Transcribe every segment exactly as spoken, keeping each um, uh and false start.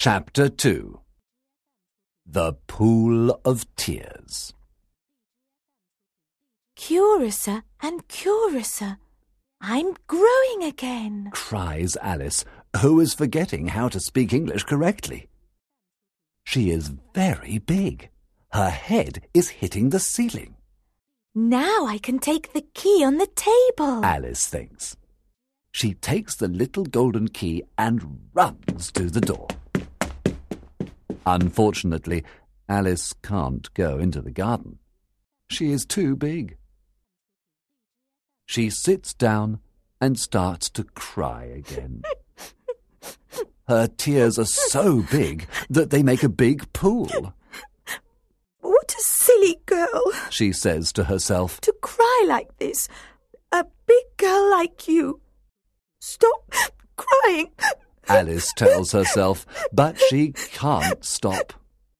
Chapter two. The Pool of Tears. Curiouser and curiouser. I'm growing again, cries Alice, who is forgetting how to speak English correctly. She is very big. Her head is hitting the ceiling. Now I can take the key on the table, Alice thinks. She takes the little golden key and runs to the door. Unfortunately, Alice can't go into the garden. She is too big. She sits down and starts to cry again. Her tears are so big that they make a big pool. What a silly girl, she says to herself, to cry like this. A big girl like you. Stop crying. Alice tells herself, but she can't stop.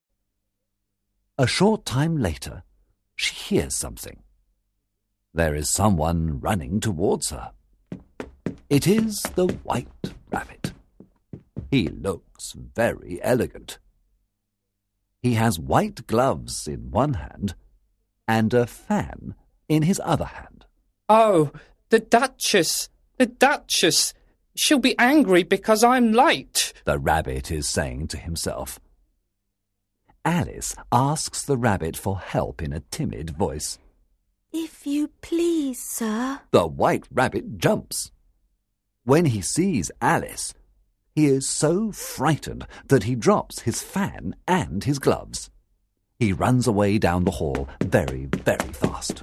A short time later, she hears something. There is someone running towards her. It is the White Rabbit. He looks very elegant. He has white gloves in one hand and a fan in his other hand. Oh, the Duchess, the Duchess. She'll be angry because I'm late, the rabbit is saying to himself. Alice asks the rabbit for help in a timid voice. If you please, sir. The White Rabbit jumps. When he sees Alice, he is so frightened that he drops his fan and his gloves. He runs away down the hall very, very fast.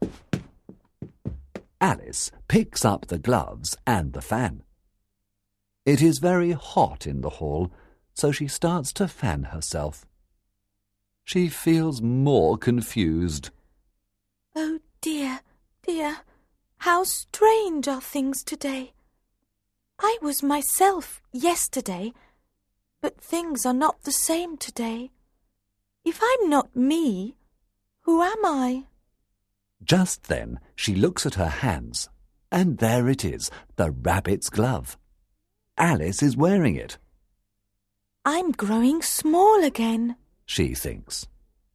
Alice picks up the gloves and the fan. It is very hot in the hall, so she starts to fan herself. She feels more confused. Oh dear, dear, how strange are things today. I was myself yesterday, but things are not the same today. If I'm not me, who am I? Just then she looks at her hands, and there it is, the rabbit's glove. Alice is wearing it. I'm growing small again, she thinks.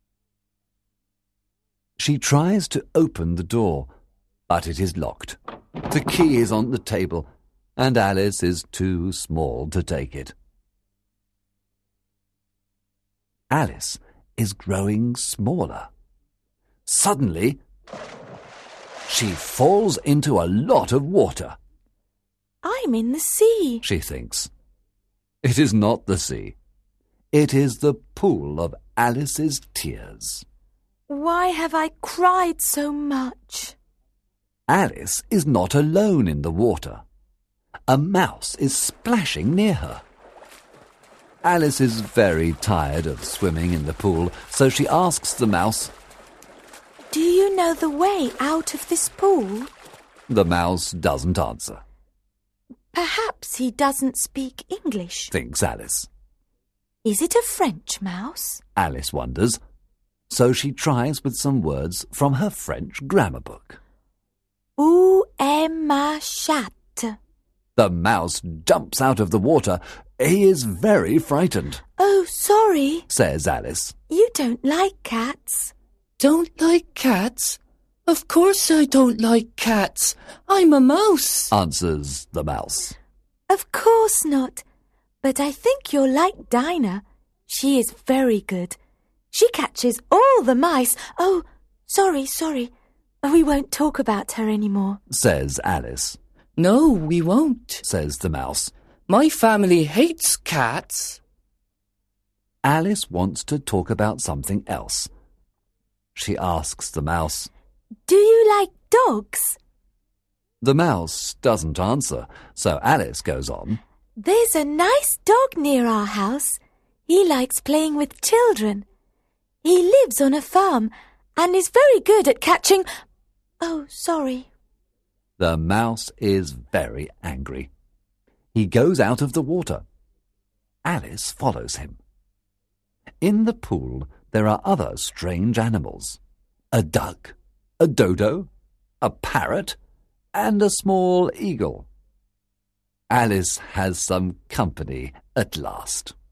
She tries to open the door, but it is locked. The key is on the table, and Alice is too small to take it. Alice is growing smaller. Suddenly, she falls into a lot of water. I'm in the sea, she thinks. It is not the sea. It is the pool of Alice's tears. Why have I cried so much? Alice is not alone in the water. A mouse is splashing near her. Alice is very tired of swimming in the pool, so she asks the mouse, Do you know the way out of this pool? The mouse doesn't answer. Perhaps he doesn't speak English, thinks Alice. Is it a French mouse? Alice wonders. So she tries with some words from her French grammar book. Où est ma chatte? The mouse jumps out of the water. He is very frightened. Oh, sorry, says Alice. You don't like cats. Don't like cats? Of course I don't like cats. I'm a mouse, answers the mouse. Of course not. But I think you're like Dinah. She is very good. She catches all the mice. Oh, sorry, sorry. We won't talk about her anymore, says Alice. No, we won't, says the mouse. My family hates cats. Alice wants to talk about something else. She asks the mouse, Do you like dogs? The mouse doesn't answer, so Alice goes on. There's a nice dog near our house. He likes playing with children. He lives on a farm and is very good at catching... Oh, sorry. The mouse is very angry. He goes out of the water. Alice follows him. In the pool, there are other strange animals. A duck, a dodo, a parrot, and a small eagle. Alice has some company at last.